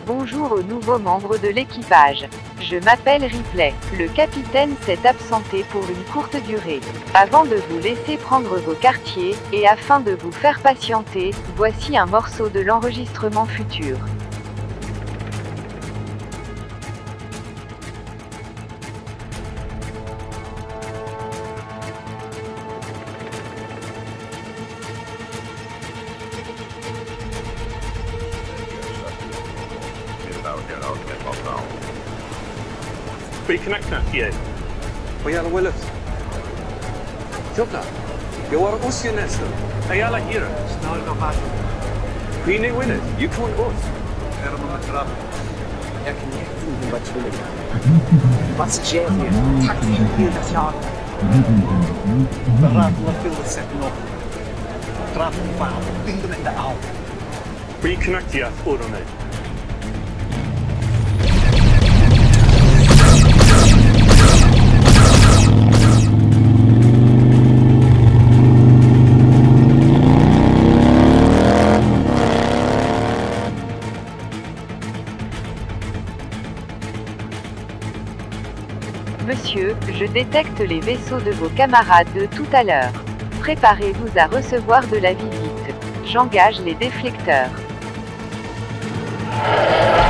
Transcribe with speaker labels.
Speaker 1: Bonjour aux nouveaux membres de l'équipage. Je m'appelle Ripley. Le capitaine s'est absenté pour une courte durée. Avant de vous laisser prendre vos quartiers, et afin de vous faire patienter, voici un morceau de l'enregistrement futur.
Speaker 2: Reconnecta ie.
Speaker 3: ويلا ولد شوفنا جوار أوسيا نسل
Speaker 2: Ayala hira.
Speaker 4: Snarare bara.
Speaker 3: فيني ولد يكون أوس
Speaker 4: Är de med trapp? Jag kan jätteingen vara tvungen. Vad sker det? Tack för hela tjaten. Berätta vad Phil sätter upp. Trappen fan. Byggde med det av.
Speaker 2: Reconnect ie orone.
Speaker 1: Monsieur, je détecte les vaisseaux de vos camarades de tout à l'heure. Préparez-vous à recevoir de la visite. J'engage les déflecteurs.